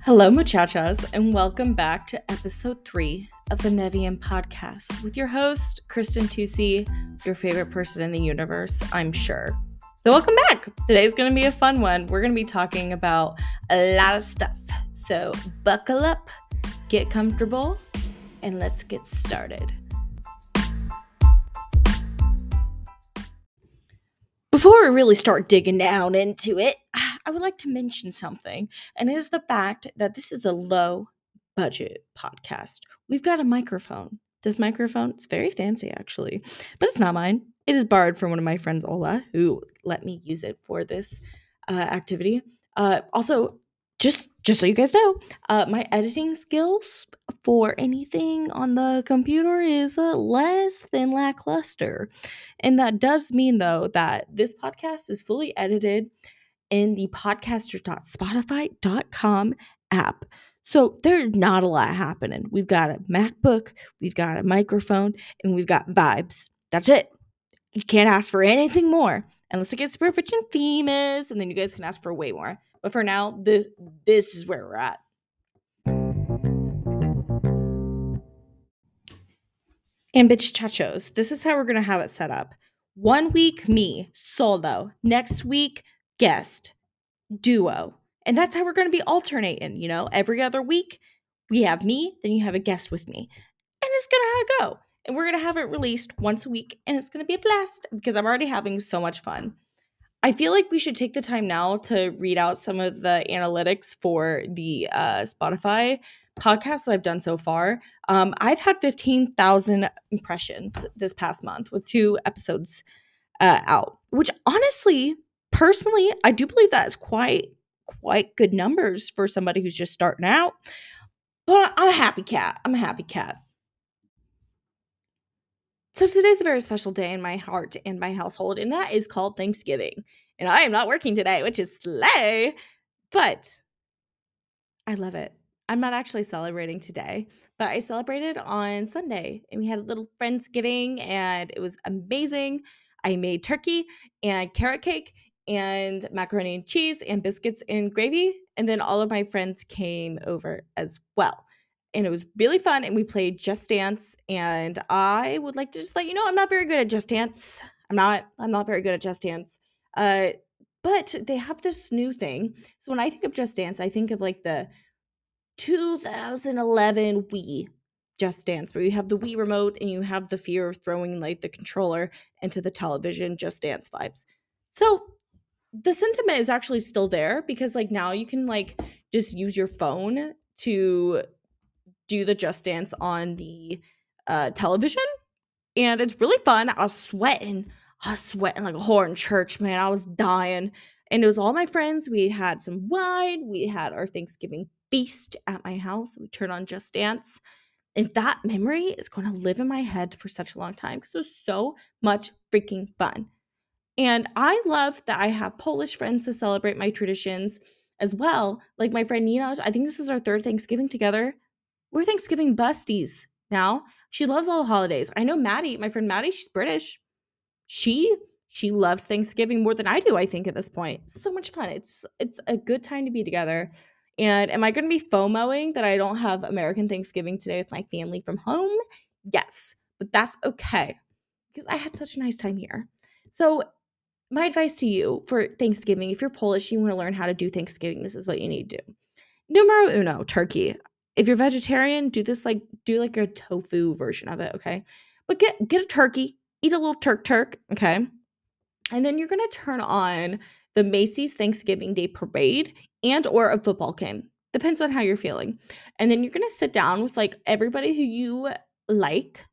Hello, muchachas, and welcome back to episode 3 of the Nevian podcast with your host, Kristen Tusi, your favorite person in the universe, I'm sure. So, welcome back. Today's going to be a fun one. We're going to be talking about a lot of stuff. So, buckle up, get comfortable, and let's get started. Before we really start digging down into it, I would like to mention something, and it is the fact that this is a low budget podcast. We've got a microphone. This microphone is very fancy, actually, but it's not mine. It is borrowed from one of my friends, Ola, who let me use it for this activity. Also, just so you guys know, my editing skills for anything on the computer is less than lackluster. And that does mean, though, that this podcast is fully edited in the podcaster.spotify.com app. So there's not a lot happening. We've got a MacBook, we've got a microphone, and we've got vibes. That's it. You can't ask for anything more unless it gets super rich and famous, and then you guys can ask for way more. But for now, this is where we're at. And bitch chachos, this is how we're going to have it set up. 1 week, me, solo. Next week, guest, duo. And that's how we're going to be alternating, every other week we have me, then you have a guest with me. And it's going to go. And we're going to have it released once a week, and it's going to be a blast because I'm already having so much fun. I feel like we should take the time now to read out some of the analytics for the Spotify podcast that I've done so far. I've had 15,000 impressions this past month with 2 episodes out, which honestly, personally, I do believe that is quite good numbers for somebody who's just starting out. But I'm a happy cat. So today's a very special day in my heart and my household, and that is called Thanksgiving. And I am not working today, which is slay, but I love it. I'm not actually celebrating today, but I celebrated on Sunday, and we had a little Friendsgiving, and it was amazing. I made turkey and carrot cake and macaroni and cheese and biscuits and gravy, and then all of my friends came over as well. And it was really fun, and we played Just Dance, and I would like to just let you know I'm not very good at Just Dance. I'm not very good at Just Dance. But they have this new thing. So when I think of Just Dance, I think of like the 2011 Wii Just Dance, where you have the Wii remote and you have the fear of throwing like the controller into the television Just Dance vibes. So the sentiment is actually still there because like now you can like just use your phone to do the Just Dance on the television, and it's really fun. I was sweating like a whore in church, man. I was dying, and it was all my friends. We had some wine. We had our Thanksgiving feast at my house. We turned on Just Dance, and that memory is going to live in my head for such a long time because it was so much freaking fun. And I love that I have Polish friends to celebrate my traditions as well. Like my friend Nina, I think this is our 3rd Thanksgiving together. We're Thanksgiving besties now. She loves all the holidays. I know Maddie, my friend Maddie, she's British. She loves Thanksgiving more than I do, I think, at this point. So much fun. It's a good time to be together. And am I going to be FOMOing that I don't have American Thanksgiving today with my family from home? Yes, but that's okay because I had such a nice time here. So my advice to you for Thanksgiving, if you're Polish, you want to learn how to do Thanksgiving, this is what you need to do. Numero uno, turkey. If you're vegetarian, do like a tofu version of it, okay? But get a turkey, eat a little turk, okay? And then you're gonna turn on the Macy's Thanksgiving Day Parade and or a football game. Depends on how you're feeling. And then you're gonna sit down with like everybody who you like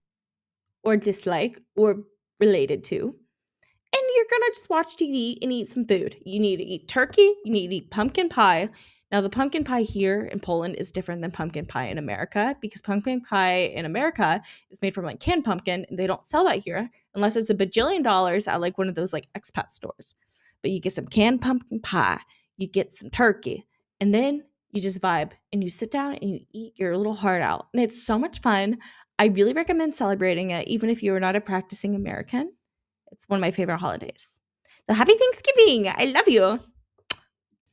or dislike or related to. And you're gonna just watch TV and eat some food. You need to eat turkey, you need to eat pumpkin pie. Now, the pumpkin pie here in Poland is different than pumpkin pie in America because pumpkin pie in America is made from like canned pumpkin, and they don't sell that here unless it's a bajillion dollars at like one of those like expat stores. But you get some canned pumpkin pie, you get some turkey, and then you just vibe and you sit down and you eat your little heart out. And it's so much fun. I really recommend celebrating it, even if you are not a practicing American. It's one of my favorite holidays. So happy Thanksgiving. I love you.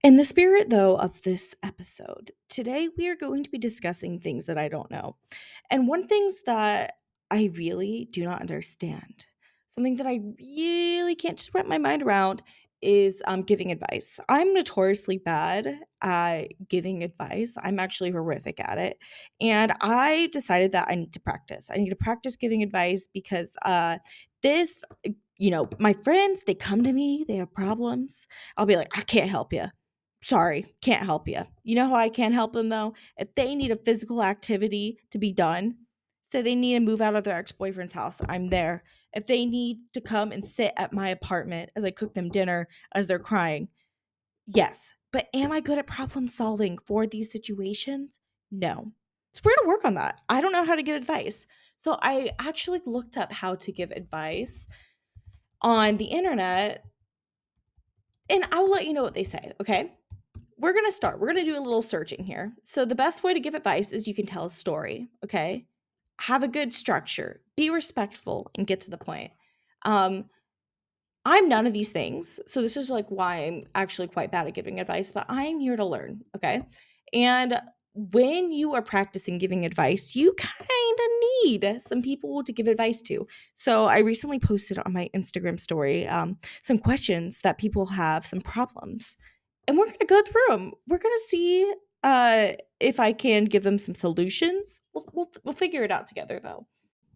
In the spirit, though, of this episode, today we are going to be discussing things that I don't know. And one things that I really do not understand, something that I really can't just wrap my mind around is giving advice. I'm notoriously bad at giving advice. I'm actually horrific at it. And I decided that I need to practice. I need to practice giving advice because this, my friends, they come to me, they have problems. I'll be like, I can't help you. Sorry, can't help you. You know how I can help them though? If they need a physical activity to be done, so they need to move out of their ex-boyfriend's house, I'm there. If they need to come and sit at my apartment as I cook them dinner as they're crying, yes. But am I good at problem solving for these situations? No. So we're gonna work on that. I don't know how to give advice. So I actually looked up how to give advice on the internet, and I'll let you know what they say, okay? We're going to start. We're going to do a little searching here. So, the best way to give advice is you can tell a story, okay? Have a good structure, be respectful, and get to the point. Um, I'm none of these things. So, this is like why I'm actually quite bad at giving advice, but I'm here to learn, okay? And when you are practicing giving advice, you kind of need some people to give advice to. So, I recently posted on my Instagram story some questions that people have, some problems, and we're going to go through them. We're going to see if I can give them some solutions. We'll figure it out together, though.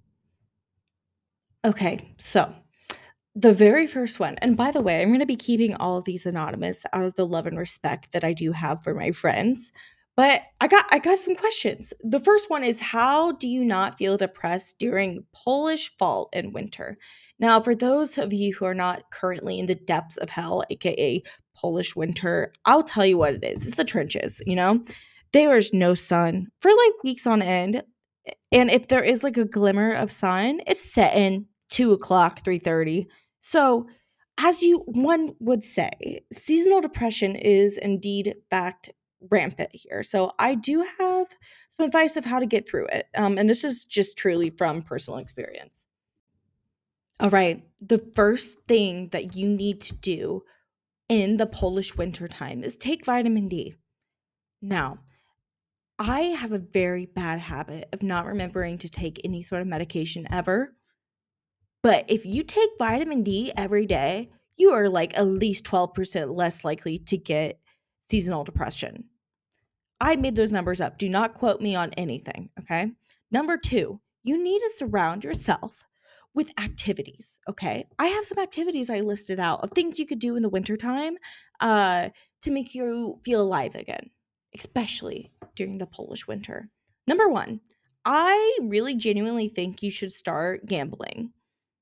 Okay, so the very first one, and by the way, I'm going to be keeping all of these anonymous out of the love and respect that I do have for my friends. But I got some questions. The first one is, how do you not feel depressed during Polish fall and winter? Now, for those of you who are not currently in the depths of hell, aka Polish winter, I'll tell you what it is. It's the trenches, you know? There is no sun for like weeks on end. And if there is like a glimmer of sun, it's setting 2 o'clock, 3:30. So, as you one would say, seasonal depression is indeed fact rampant here. So, I do have some advice of how to get through it. And this is just truly from personal experience. All right. The first thing that you need to do in the Polish winter time is take vitamin D. Now, I have a very bad habit of not remembering to take any sort of medication ever. But if you take vitamin D every day, you are like at least 12% less likely to get seasonal depression. I made those numbers up. Do not quote me on anything, okay? Number two, you need to surround yourself with activities, okay? I have some activities I listed out of things you could do in the wintertime to make you feel alive again, especially during the Polish winter. Number one, I really genuinely think you should start gambling.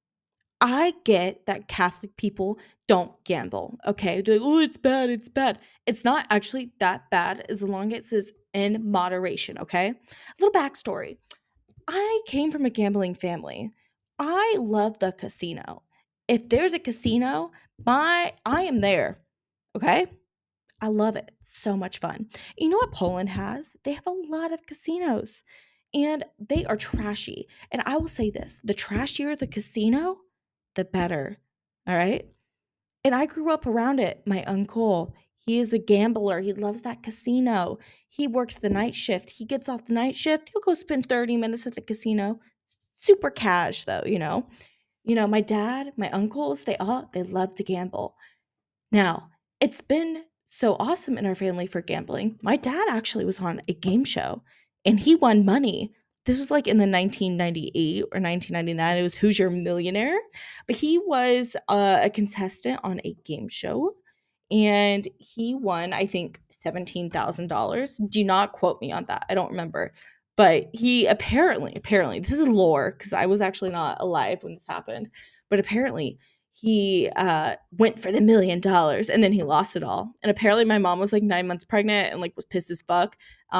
I get that Catholic people don't gamble, okay? They're like, oh, it's bad, it's bad. It's not actually that bad as long as it's in moderation, okay? A little backstory. I came from a gambling family. I love the casino. If there's a casino, I am there, okay? I love it. So much fun. You know what Poland has? They have a lot of casinos and they are trashy. And I will say this, the trashier the casino, the better. All right. And I grew up around it. My uncle, he is a gambler. He loves that casino. He works the night shift. He gets off the night shift. He'll go spend 30 minutes at the casino. Super cash though, you know. My dad, my uncles, they love to gamble. Now, it's been so awesome in our family for gambling. My dad actually was on a game show and he won money. This was like in the 1998 or 1999. It was Who's Your Millionaire? But he was a contestant on a game show and he won, I think, $17,000. Do not quote me on that. I don't remember. But he apparently, this is lore because I was actually not alive when this happened. But apparently, he went for the $1 million and then he lost it all. And apparently, my mom was like 9 months pregnant and like was pissed as fuck.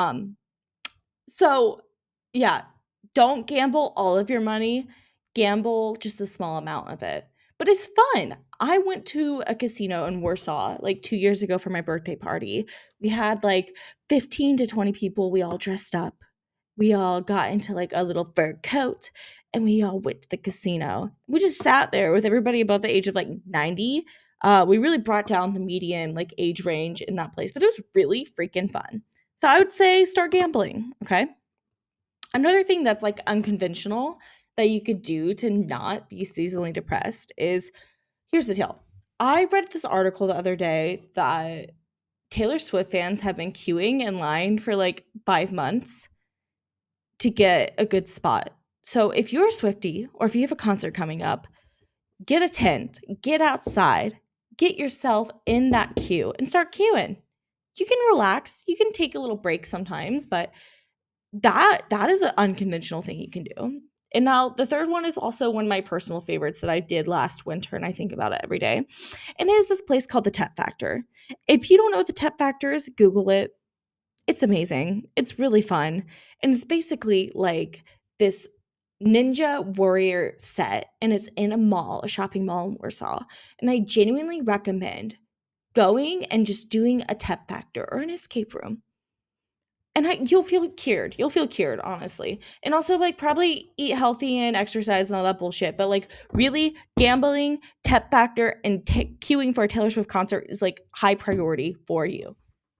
So yeah, don't gamble all of your money. Gamble just a small amount of it. But it's fun. I went to a casino in Warsaw like 2 years ago for my birthday party. We had like 15 to 20 people. We all dressed up. We all got into like a little fur coat and we all went to the casino. We just sat there with everybody above the age of like 90. We really brought down the median like age range in that place, but it was really freaking fun. So I would say start gambling. Okay. Another thing that's like unconventional that you could do to not be seasonally depressed is, here's the deal. I read this article the other day that Taylor Swift fans have been queuing in line for like 5 months to get a good spot. So if you're a Swiftie or if you have a concert coming up, get a tent, get outside, get yourself in that queue and start queuing. You can relax, you can take a little break sometimes, but that is an unconventional thing you can do. And now the third one is also one of my personal favorites that I did last winter, and I think about it every day. And it is this place called the Tep Factor. If you don't know what the Tep Factor is, Google it. It's amazing. It's really fun. And it's basically like this Ninja Warrior set, and it's in a mall, a shopping mall in Warsaw. And I genuinely recommend going and just doing a Tep Factor or an escape room. And you'll feel cured. You'll feel cured, honestly. And also, like, probably eat healthy and exercise and all that bullshit. But, like, really gambling, Tep Factor, and queuing for a Taylor Swift concert is, like, high priority for you.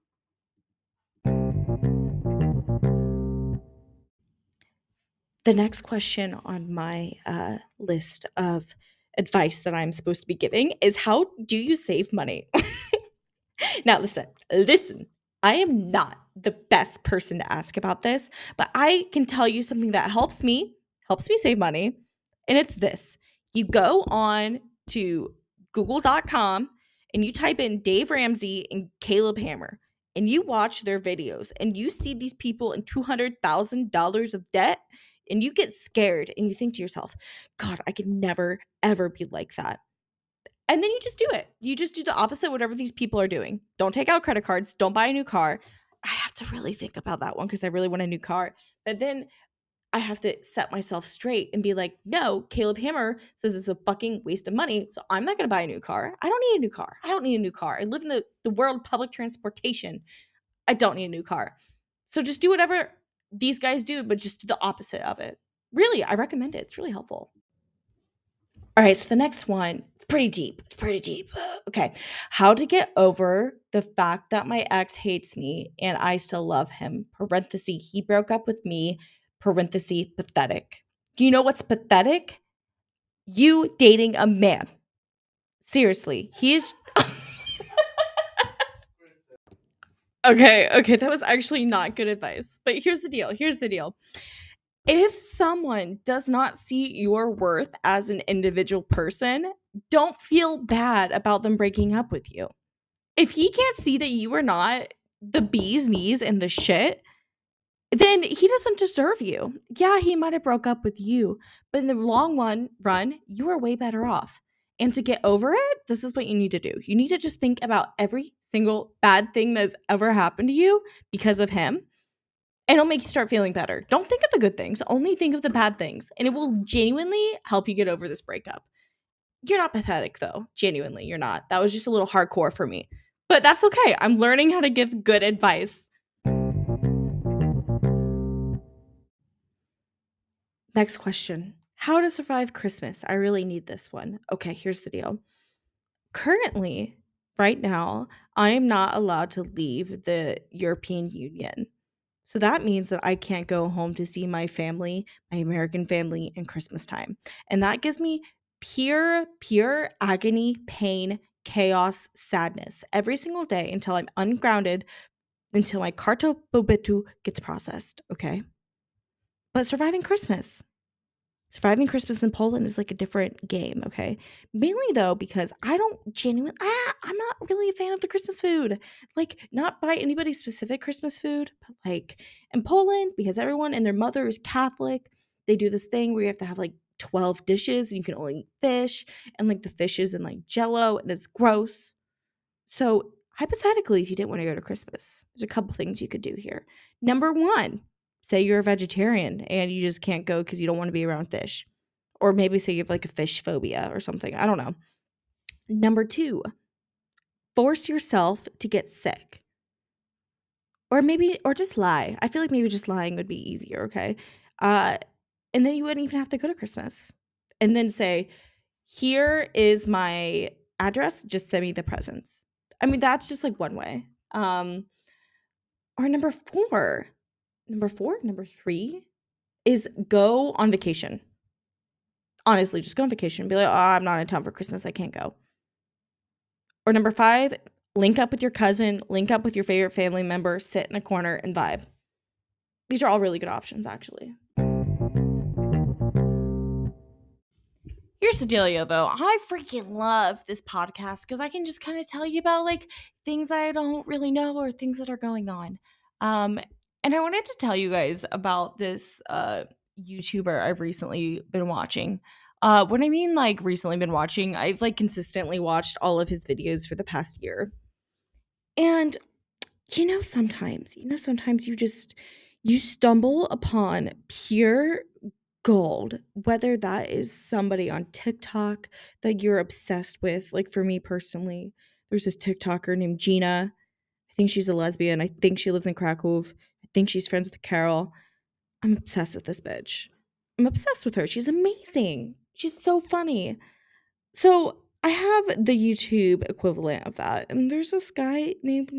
The next question on my list of advice that I'm supposed to be giving is, how do you save money? Now, listen. I am not the best person to ask about this, but I can tell you something that helps me save money. And it's this: you go on to google.com and you type in Dave Ramsey and Caleb Hammer, and you watch their videos, and you see these people in $200,000 of debt, and you get scared and you think to yourself, God, I could never, ever be like that. And then you just do it. You just do the opposite, whatever these people are doing. Don't take out credit cards. Don't buy a new car. I have to really think about that one because I really want a new car. But then I have to set myself straight and be like, no, Caleb Hammer says it's a fucking waste of money. So I'm not going to buy a new car. I don't need a new car. I don't need a new car. I live in the world of public transportation. I don't need a new car. So just do whatever these guys do, but just do the opposite of it. Really, I recommend it. It's really helpful. All right, so the next one, it's pretty deep. It's pretty deep. Okay. How to get over the fact that my ex hates me and I still love him. Parenthesis, he broke up with me. Parenthesis, pathetic. Do you know what's pathetic? You dating a man. Seriously. He's okay, that was actually not good advice. But here's the deal. Here's the deal. If someone does not see your worth as an individual person, don't feel bad about them breaking up with you. If he can't see that you are not the bee's knees and the shit, then he doesn't deserve you. Yeah, he might have broke up with you, but in the run, you are way better off. And to get over it, this is what you need to do. You need to just think about every single bad thing that's ever happened to you because of him, and it'll make you start feeling better. Don't think of the good things, only think of the bad things, and it will genuinely help you get over this breakup. You're not pathetic, though. Genuinely, you're not. That was just a little hardcore for me. But that's okay. I'm learning how to give good advice. Next question. How to survive Christmas? I really need this one. Okay, here's the deal. Currently, right now, I am not allowed to leave the European Union. So that means that I can't go home to see my family, my American family, in Christmas time. And that gives me pure agony, pain, chaos, sadness every single day until I'm ungrounded, until my carta pobytu gets processed. Okay. But surviving Christmas in Poland is like a different game. Okay. Mainly though, because I'm not really a fan of the Christmas food. Like, not by anybody's specific Christmas food, but like in Poland, because everyone and their mother is Catholic, they do this thing where you have to have like 12 dishes and you can only eat fish, and like the fish is in like jello and it's gross. So, hypothetically, if you didn't want to go to Christmas, there's a couple things you could do here. Number one, say you're a vegetarian and you just can't go because you don't want to be around fish. Or maybe say you have like a fish phobia or something. I don't know. Number two, force yourself to get sick. Or just lie. I feel like maybe just lying would be easier, okay? Uh, and then you wouldn't even have to go to Christmas. And then say, here is my address, just send me the presents. I mean, that's just like one way. Or number three is go on vacation. Honestly, just go on vacation. Be like, oh, I'm not in town for Christmas. I can't go. Or number five, link up with your cousin, link up with your favorite family member, sit in the corner and vibe. These are all really good options, actually. Here's the dealio, though. I freaking love this podcast because I can just kind of tell you about like things I don't really know or things that are going on. Um, and I wanted to tell you guys about this YouTuber I've recently been watching. When I mean like recently been watching, I've like consistently watched all of his videos for the past year. And sometimes you stumble upon pure gold, whether that is somebody on TikTok that you're obsessed with. Like for me personally, there's this TikToker named Gina. I think she's a lesbian. I think she lives in Krakow. I think she's friends with Carol. I'm obsessed with this bitch. I'm obsessed with her. She's amazing. She's so funny. So I have the YouTube equivalent of that. And there's this guy named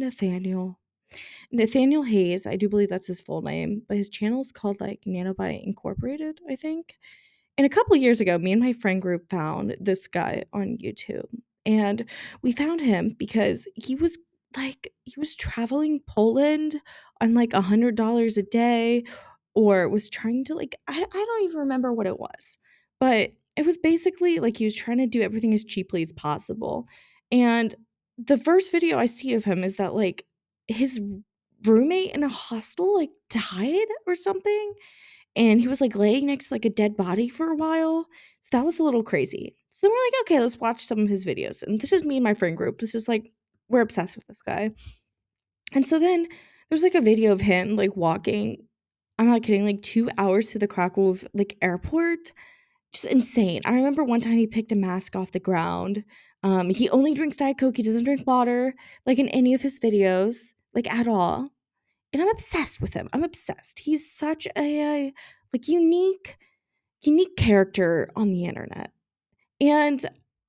Nathaniel Hayes. I do believe that's his full name, but his channel is called like Nanobite Incorporated, I think. And a couple years ago, me and my friend group found this guy on YouTube. And we found him because he was traveling Poland on like $100 a day, or was trying to like I don't even remember what it was. But it was basically like he was trying to do everything as cheaply as possible. And the first video I see of him is that like his roommate in a hostel like died or something, and he was like laying next to like a dead body for a while. So that was a little crazy. So then we're like, okay, let's watch some of his videos. And this is me and my friend group. This is like, we're obsessed with this guy. And so then there's like a video of him like walking, I'm not kidding, like 2 hours to the Krakow like airport. Just insane. I remember one time he picked a mask off the ground. He only drinks Diet Coke. He doesn't drink water like in any of his videos, like at all. And I'm obsessed with him. I'm obsessed. He's such a like unique character on the internet. And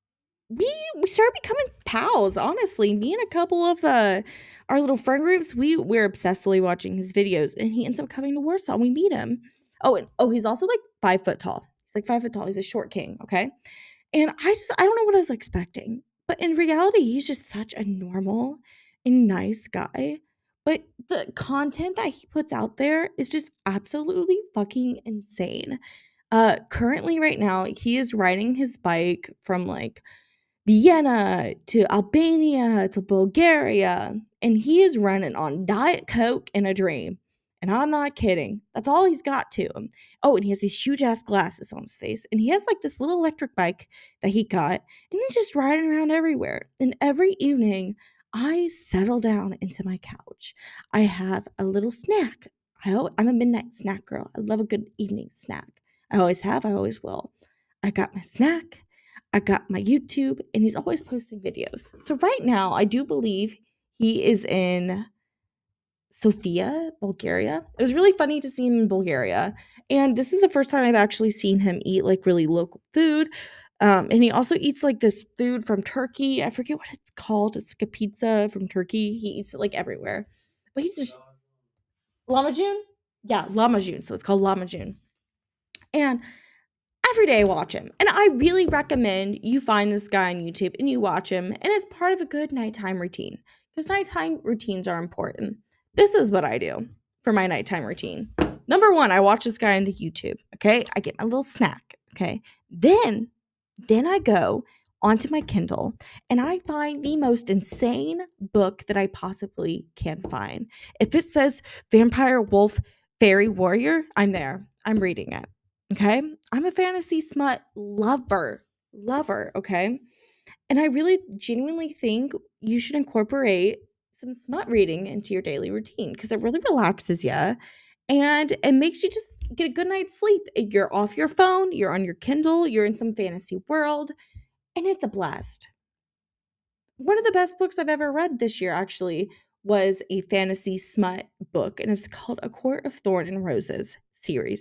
we started becoming pals, honestly. Me and a couple of our little friend groups, we're obsessively watching his videos, and he ends up coming to Warsaw. We meet him. He's also like 5 foot tall. He's like 5 foot tall. He's a short king, okay? And I don't know what I was expecting. But in reality, he's just such a normal and nice guy. But the content that he puts out there is just absolutely fucking insane. Currently right now, he is riding his bike from like Vienna to Albania to Bulgaria, and he is running on Diet Coke and a dream. And I'm not kidding. That's all he's got to him. Oh, and he has these huge ass glasses on his face, and he has like this little electric bike that he got, and he's just riding around everywhere. And every evening, I settle down into my couch. I have a little snack. I'm a midnight snack girl. I love a good evening snack. I always have, I always will. I got my snack. I got my YouTube, and he's always posting videos. So right now, I do believe he is in Sofia, Bulgaria. It was really funny to see him in Bulgaria. And this is the first time I've actually seen him eat like really local food. And he also eats like this food from Turkey. I forget what it's called. It's like a pizza from Turkey. He eats it like everywhere. But he's just Lamajun? Yeah, Lamajun. So it's called Lamajun. And every day I watch him. And I really recommend you find this guy on YouTube and you watch him. And it's part of a good nighttime routine, because nighttime routines are important. This is what I do for my nighttime routine. Number one, I watch this guy on the YouTube. Okay. I get my little snack. Okay. Then I go onto my Kindle and I find the most insane book that I possibly can find. If it says Vampire Wolf Fairy Warrior, I'm there. I'm reading it. Okay. I'm a fantasy smut lover. Okay. And I really genuinely think you should incorporate some smut reading into your daily routine, because it really relaxes you and it makes you just get a good night's sleep. You're off your phone, you're on your Kindle, you're in some fantasy world, and it's a blast. One of the best books I've ever read this year actually was a fantasy smut book, and it's called A Court of Thorn and Roses series.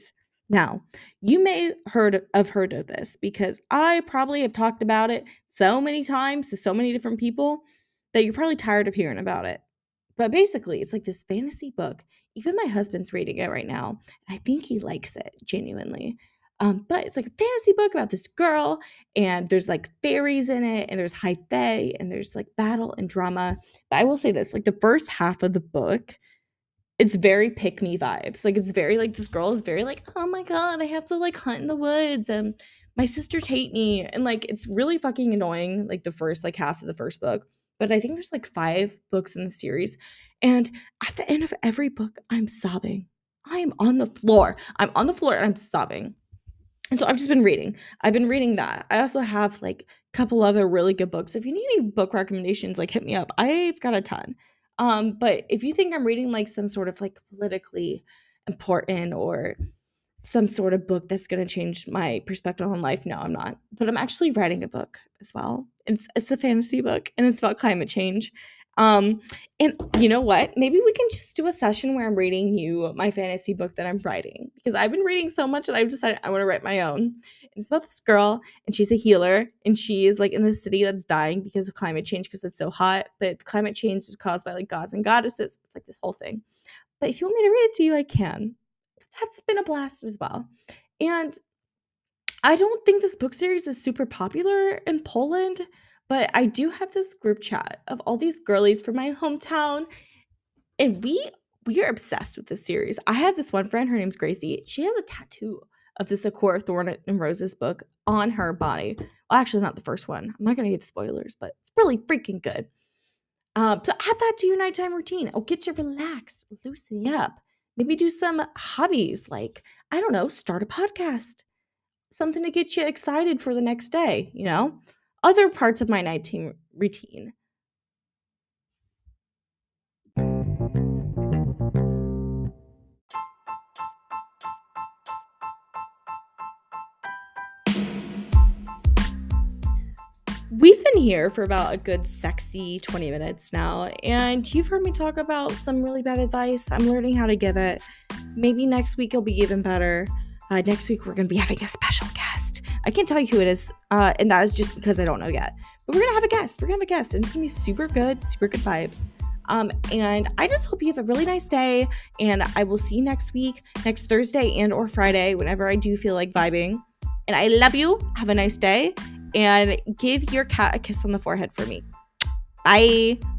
Now, you may have heard of this because I probably have talked about it so many times to so many different people that you're probably tired of hearing about it. But basically, it's like this fantasy book. Even my husband's reading it right now, and I think he likes it genuinely. But it's like a fantasy book about this girl, and there's like fairies in it, and there's high fae, and there's like battle and drama. But I will say this: like the first half of the book, it's very pick me vibes. Like it's very like this girl is very like, oh my god, I have to like hunt in the woods, and my sisters hate me, and like it's really fucking annoying. Like the first like half of the first book, but I think there's like 5 books in the series, and at the end of every book, I'm sobbing. I am on the floor. I'm on the floor and I'm sobbing. And so I've just been reading. I've been reading that. I also have like a couple other really good books. If you need any book recommendations, like hit me up. I've got a ton. But if you think I'm reading like some sort of like politically important or some sort of book that's going to change my perspective on life, no, I'm not. But I'm actually writing a book as well. It's a fantasy book and it's about climate change. Um, and you know what? Maybe we can just do a session where I'm reading you my fantasy book that I'm writing because I've been reading so much that I've decided I want to write my own. And it's about this girl, and she's a healer, and she is like in this city that's dying because of climate change because it's so hot. But climate change is caused by like gods and goddesses. It's like this whole thing. But if you want me to read it to you, I can. That's been a blast as well. And I don't think this book series is super popular in Poland, but I do have this group chat of all these girlies from my hometown, and we are obsessed with this series. I have this one friend, her name's Gracie. She has a tattoo of the Sakura Thorn and Roses book on her body. Well, actually, not the first one. I'm not gonna give spoilers, but it's really freaking good. So add that to your nighttime routine. It'll get you relaxed, loosen you up. Maybe do some hobbies like, I don't know, start a podcast, something to get you excited for the next day, you know? Other parts of my nighttime routine. We've been here for about a good sexy 20 minutes now, and you've heard me talk about some really bad advice. I'm learning how to give it. Maybe next week it'll be even better. Next week we're going to be having a special guest. I can't tell you who it is, and that is just because I don't know yet. But we're going to have a guest. We're going to have a guest, and it's going to be super good vibes. And I just hope you have a really nice day, and I will see you next week, next Thursday and or Friday, whenever I do feel like vibing. And I love you. Have a nice day. And give your cat a kiss on the forehead for me. Bye.